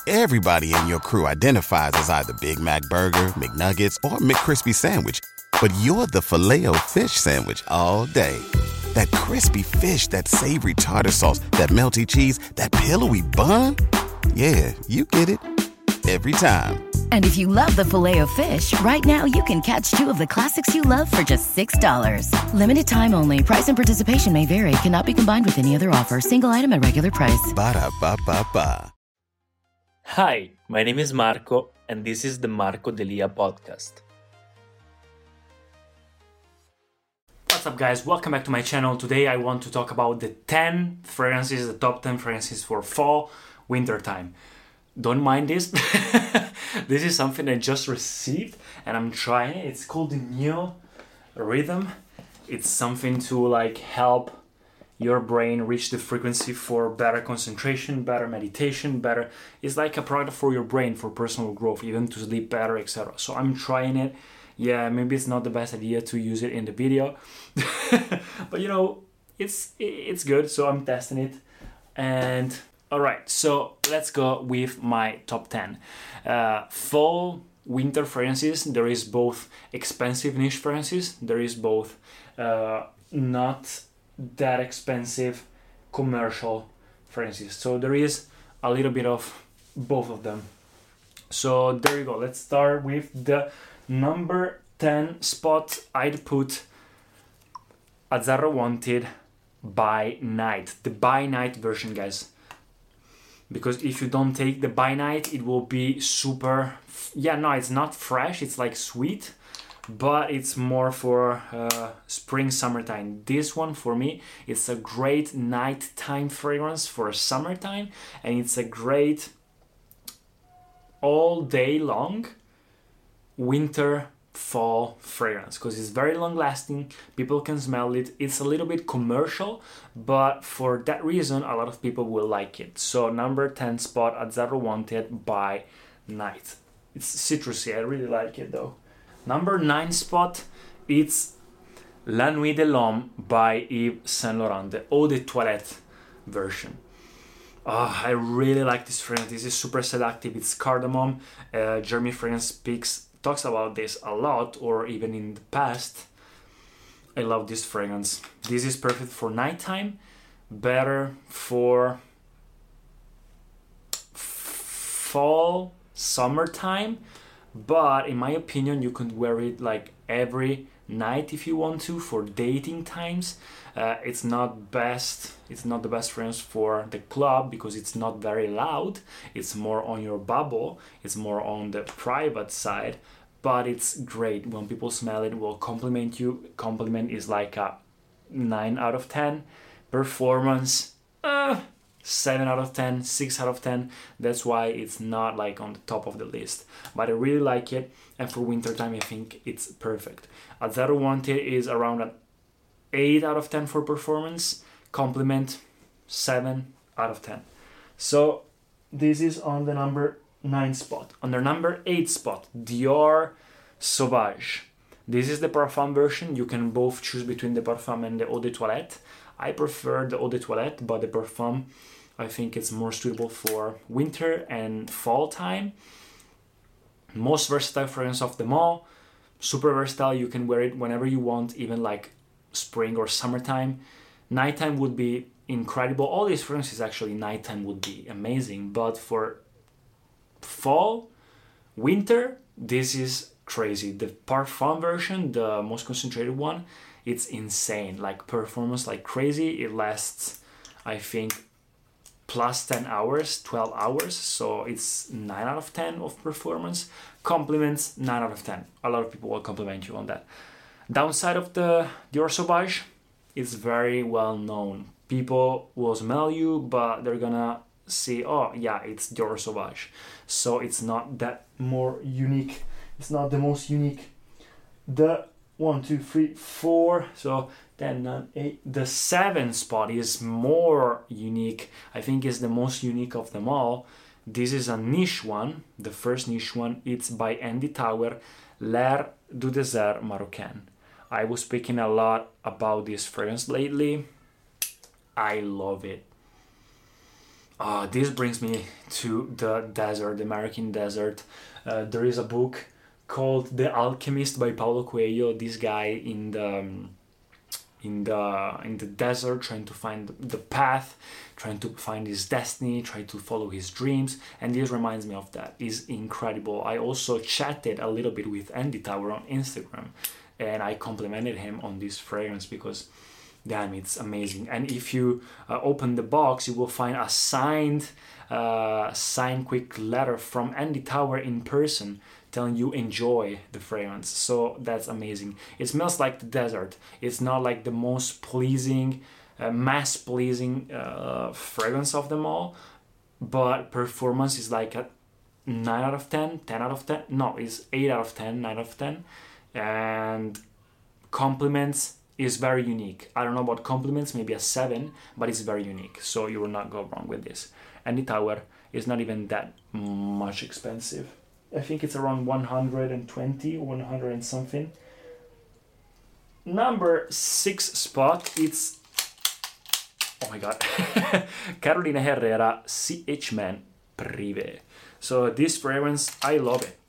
Everybody in your crew identifies as either Big Mac Burger, McNuggets, or McCrispy Sandwich. But you're the Filet-O-Fish Sandwich all day. That crispy fish, that savory tartar sauce, that melty cheese, that pillowy bun. Yeah, you get it. Every time. And if you love the Filet-O-Fish, right now you can catch two of the classics you love for just $6. Limited time only. Price and participation may vary. Cannot be combined with any other offer. Single item at regular price. Ba-da-ba-ba-ba. Hi, my name is Marco, and this is the Marco Delia podcast. What's up, guys? Welcome back to my channel. Today I want to talk about the 10 fragrances, the top 10 fragrances for fall, winter time. Don't mind this. This is something I just received and I'm trying it. It's called the Neo Rhythm. It's something to help your brain reach the frequency for better concentration, better meditation, better. It's like a product for your brain for personal growth, even to sleep better, etc. So I'm trying it. Yeah, maybe it's not the best idea to use it in the video, but it's good. So I'm testing it, and all right. So let's go with my top 10 fall winter fragrances. There is both expensive niche fragrances. There is both not that expensive commercial fragrances. So there is a little bit of both of them. So there you go. Let's start with the number 10 spot. I'd put Azzarro Wanted By Night. The By Night version, guys. Because if you don't take the By Night, it will be super... it's not fresh. It's like sweet. But it's more for spring, summertime. This one, for me, it's a great nighttime fragrance for summertime. And it's a great all day long winter, fall fragrance. Because it's very long lasting. People can smell it. It's a little bit commercial. But for that reason, a lot of people will like it. So number 10 spot, Azzarro Wanted By Night. It's citrusy. I really like it though. Number 9 spot, it's La Nuit de l'Homme by Yves Saint Laurent, the Eau de Toilette version. I really like this fragrance. This is super seductive. It's cardamom. Jeremy Fragrance talks about this a lot, or even in the past. I love this fragrance. This is perfect for nighttime, better for fall, summertime. But in my opinion, you could wear it every night if you want to, for dating times. It's not the best fragrance for the club because it's not very loud. It's more on your bubble. It's more on the private side. But it's great. When people smell it, will compliment you. Compliment is like a 9 out of 10. Performance, 7 out of 10, 6 out of 10. That's why it's not on the top of the list. But I really like it. And for wintertime, I think it's perfect. Azzarro Wanted is around an 8 out of 10 for performance. Compliment, 7 out of 10. So this is on the number 9 spot. On the number 8 spot, Dior Sauvage. This is the Parfum version. You can both choose between the Parfum and the Eau de Toilette. I prefer the Eau de Toilette, but the Parfum, I think it's more suitable for winter and fall time. Most versatile fragrance of them all. Super versatile. You can wear it whenever you want, even spring or summertime. Nighttime would be incredible. All these fragrances actually nighttime would be amazing. But for fall, winter, this is crazy. The Parfum version, the most concentrated one, it's insane. Performance crazy. It lasts, I think, plus 10 hours, 12 hours. So it's 9 out of 10 of performance. Compliments, 9 out of 10. A lot of people will compliment you on that. Downside of the Dior Sauvage, it's very well known. People will smell you, but they're gonna see, oh yeah, it's Dior Sauvage. So it's not that more unique. It's not the most unique. The 1, 2, 3, 4. So 10, 9, 8. The 7 spot is more unique. I think it's the most unique of them all. This is a niche one. The first niche one. It's by Andy Tauer, L'air du désert marocain. I was speaking a lot about this fragrance lately. I love it. This brings me to the desert, the American desert. There is a book called The Alchemist by Paulo Coelho. This guy in the desert, trying to find the path, trying to find his destiny, trying to follow his dreams, and this reminds me of that. It's incredible. I also chatted a little bit with Andy Tower on Instagram, and I complimented him on this fragrance because damn, it's amazing. And if you open the box, you will find a signed quick letter from Andy Tower in person telling you enjoy the fragrance. So that's amazing. It smells like the desert. It's not like the most pleasing, mass pleasing fragrance of them all, but performance is like a 9 out of 10, 10 out of 10. No, it's 8 out of 10, 9 out of 10. And compliments is very unique. I don't know about compliments, maybe a 7, but it's very unique. So you will not go wrong with this. Andy Tower is not even that much expensive. I think it's around 120, 100 and something. Number 6 spot, it's, oh my god, Carolina Herrera CH Man Privé. So this fragrance, I love it.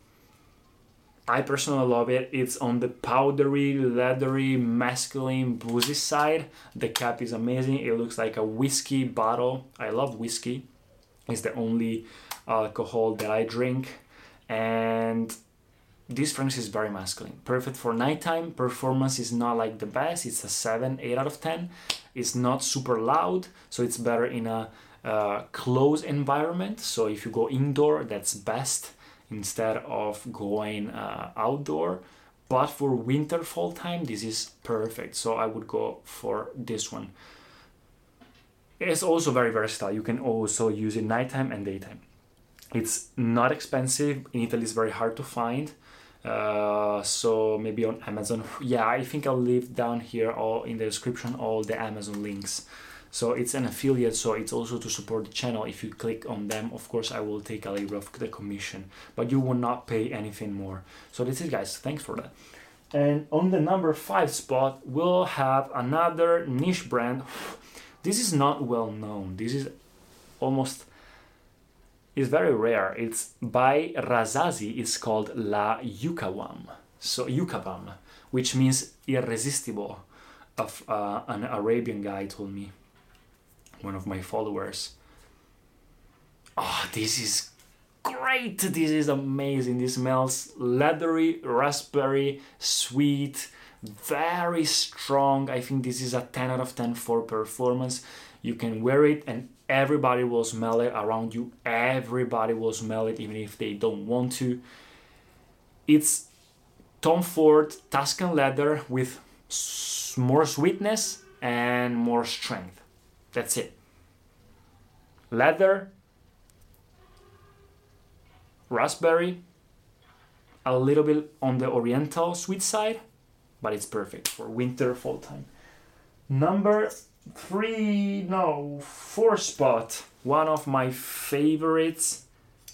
I personally love it. It's on the powdery, leathery, masculine, boozy side. The cap is amazing. It looks like a whiskey bottle. I love whiskey. It's the only alcohol that I drink. And this fragrance is very masculine. Perfect for nighttime. Performance is not like the best. It's a 7, 8 out of 10. It's not super loud, so it's better in a closed environment. So if you go indoor, that's best instead of going outdoor. But for winter, fall time, this is perfect. So I would go for this one. It's also very versatile. You can also use it nighttime and daytime. It's not expensive. In Italy, it's very hard to find. So maybe on Amazon. Yeah, I think I'll leave down here all in the description all the Amazon links. So it's an affiliate, so it's also to support the channel. If you click on them, of course, I will take a little of the commission, but you will not pay anything more. So that's it, guys. Thanks for that. And on the number 5 spot, we'll have another niche brand. This is not well known. This is almost, it's very rare. It's by Razazi. It's called La Yucawam. So Yucawam, which means irresistible. Of an Arabian guy told me. One of my followers. Oh, this is great. This is amazing. This smells leathery, raspberry, sweet, very strong. I think this is a 10 out of 10 for performance. You can wear it and everybody will smell it around you. Everybody will smell it even if they don't want to. It's Tom Ford Tuscan leather with more sweetness and more strength. That's it. Leather, raspberry, a little bit on the oriental sweet side, but it's perfect for winter, fall time. Number 4 spot. One of my favorites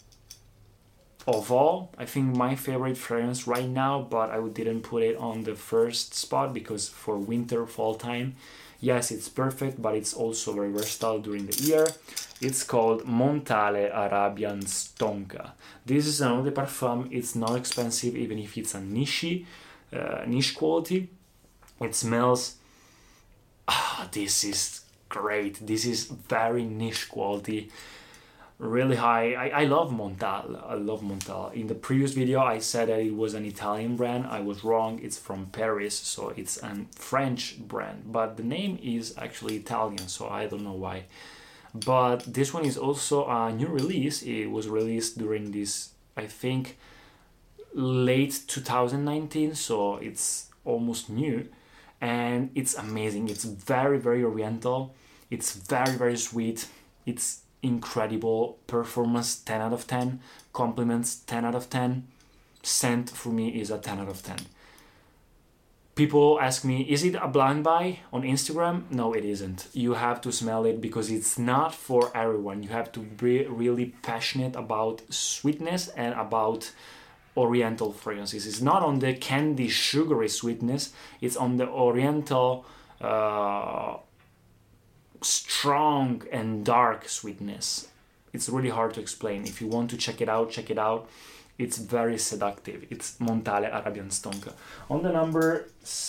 of all. I think my favorite fragrance right now, but I didn't put it on the first spot because for winter, fall time, yes, it's perfect, but it's also very versatile during the year. It's called Montale Arabian Stonka. This is an eau de parfum. It's not expensive, even if it's a niche quality. It smells... this is great. This is very niche quality. Really high. I love Montale. I love Montale. In the previous video, I said that it was an Italian brand. I was wrong. It's from Paris, so it's a French brand. But the name is actually Italian, so I don't know why. But this one is also a new release. It was released during this, I think, late 2019, so it's almost new. And it's amazing. It's very, very oriental. It's very, very sweet. It's incredible. Performance 10 out of 10. Compliments 10 out of 10. Scent for me is a 10 out of 10. People ask me, is it a blind buy on Instagram? No, it isn't. You have to smell it because it's not for everyone. You have to be really passionate about sweetness and about oriental fragrances. It's not on the candy sugary sweetness. It's on the oriental strong and dark sweetness. It's really hard to explain. If you want to check it out, check it out. It's very seductive. It's Montale Arabian Stonka. On the number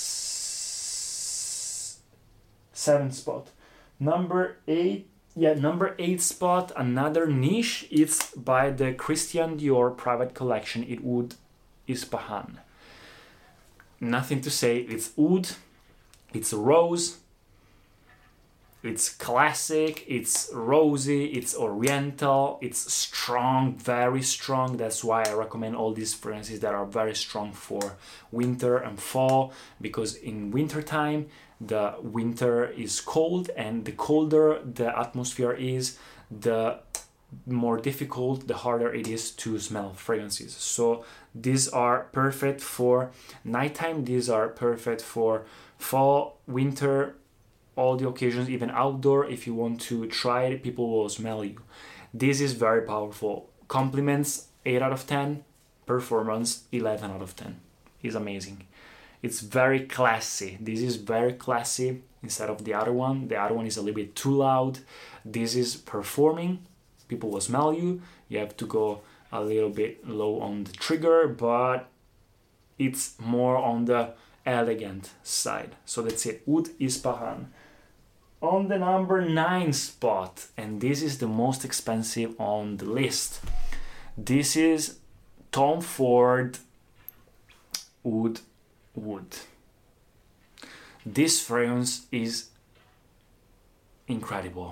7 spot. Number 8 spot, another niche. It's by the Christian Dior private collection. It Oud Ispahan. Nothing to say. It's oud. It's rose. It's classic, it's rosy, it's oriental, it's strong, very strong. That's why I recommend all these fragrances that are very strong for winter and fall, because in winter time the winter is cold, and the colder the atmosphere is, the more difficult, the harder it is to smell fragrances. So these are perfect for nighttime, these are perfect for fall, winter, all the occasions, even outdoor. If you want to try it, people will smell you. This is very powerful. Compliments 8 out of 10, performance 11 out of 10. It's amazing. It's very classy. This is very classy instead of the other one. The other one is a little bit too loud. This is performing. People will smell you. You have to go a little bit low on the trigger, but it's more on the elegant side. So that's it. Oud Ispahan. On the number 9 spot, and this is the most expensive on the list. This is Tom Ford Oud Wood. This fragrance is incredible.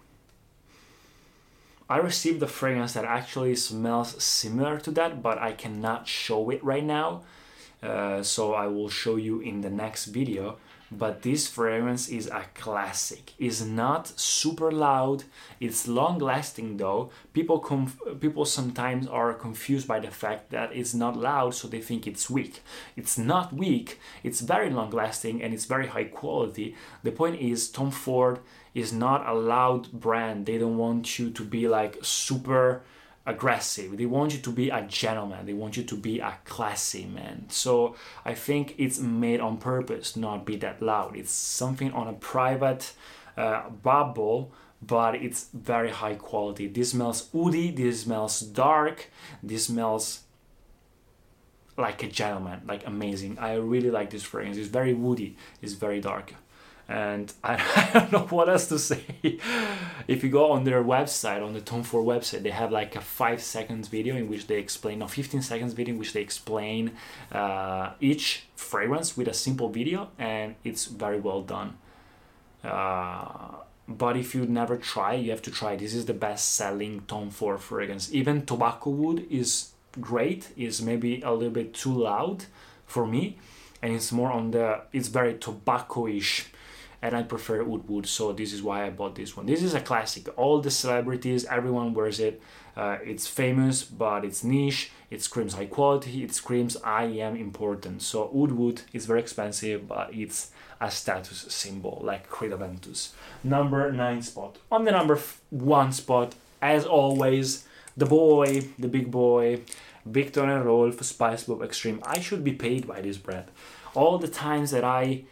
I received a fragrance that actually smells similar to that, but I cannot show it right now. So I will show you in the next video. But this fragrance is a classic. It's not super loud. It's long lasting though. People sometimes are confused by the fact that it's not loud, so they think it's weak. It's not weak. It's very long lasting and it's very high quality. The point is, Tom Ford is not a loud brand. They don't want you to be like super aggressive. They want you to be a gentleman. They want you to be a classy man. So I think it's made on purpose, not be that loud. It's something on a private bubble, but it's very high quality. This smells woody, this smells dark, this smells like a gentleman, like amazing. I really like this fragrance. It's very woody, it's very dark. And I don't know what else to say. If you go on their website, on the Tom Ford website, they have like a 5 seconds video in which they explain, no, 15 seconds video in which they explain each fragrance with a simple video, and it's very well done. But if you never try, you have to try. This is the best selling Tom Ford fragrance. Even Tobacco Wood is great, is maybe a little bit too loud for me, and it's more on the, it's very tobacco-ish. And I prefer Oud Wood, so this is why I bought this one. This is a classic. All the celebrities, everyone wears it. It's famous, but it's niche. It screams high quality. It screams I am important. So Oud Wood is very expensive, but it's a status symbol, like Creed Aventus. Number 9 spot. On the number 1 spot, as always, the boy, the big boy, Viktor and Rolf Spice Bomb Extreme. I should be paid by this brand. All the times that I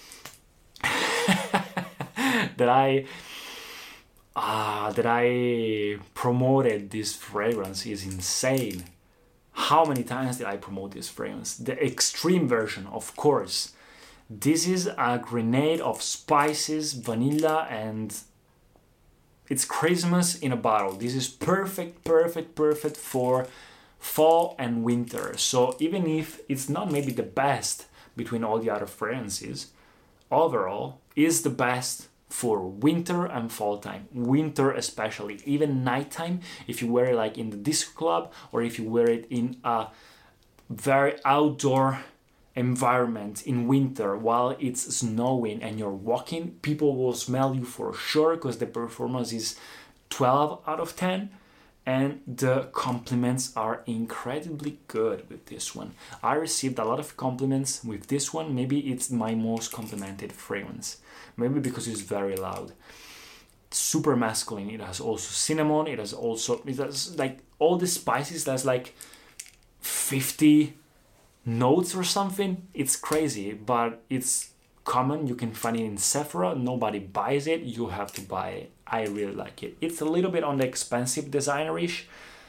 that I promoted this fragrance is insane. How many times did I promote this fragrance? The extreme version, of course. This is a grenade of spices, vanilla, and it's Christmas in a bottle. This is perfect for fall and winter. So even if it's not maybe the best between all the other fragrances, overall is the best for winter and fall time. Winter especially, even nighttime, if you wear it like in the disco club, or if you wear it in a very outdoor environment in winter while it's snowing and you're walking, people will smell you for sure, because the performance is 12 out of 10. And the compliments are incredibly good with this one. I received a lot of compliments with this one. Maybe it's my most complimented fragrance. Maybe because it's very loud. Super masculine. It has also cinnamon. It has like all the spices. There's like 50 notes or something. It's crazy, but it's common. You can find it in Sephora. Nobody buys it. You have to buy it. I really like it. It's a little bit on the expensive designer-ish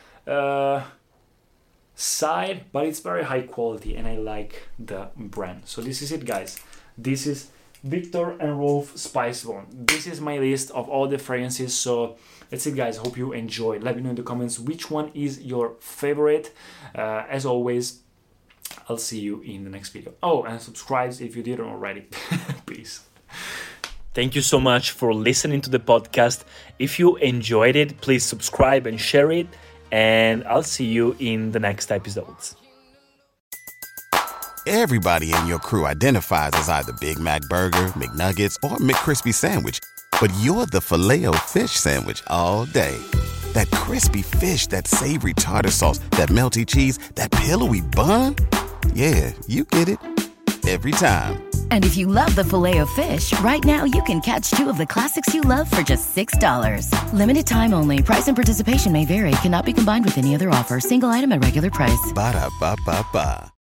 side, but it's very high quality and I like the brand. So this is it, guys. This is Viktor and Rolf Spicebomb. This is my list of all the fragrances. So that's it, guys. Hope you enjoyed. Let me know in the comments which one is your favorite. As always, I'll see you in the next video. Oh, and subscribe if you didn't already. Peace. Thank you so much for listening to the podcast. If you enjoyed it, please subscribe and share it. And I'll see you in the next episodes. Everybody in your crew identifies as either Big Mac Burger, McNuggets, or McCrispy Sandwich. But you're the Filet-O-Fish Sandwich all day. That crispy fish, that savory tartar sauce, that melty cheese, that pillowy bun. Yeah, you get it. Every time. And if you love the Filet-O-Fish, right now you can catch 2 of the classics you love for just $6. Limited time only. Price and participation may vary. Cannot be combined with any other offer. Single item at regular price. Ba-da-ba-ba-ba.